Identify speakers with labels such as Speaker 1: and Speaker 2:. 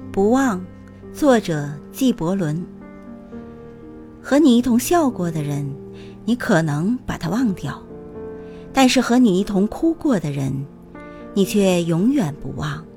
Speaker 1: 不忘，作者纪伯伦。和你一同笑过的人，你可能把他忘掉，但是和你一同哭过的人，你却永远不忘。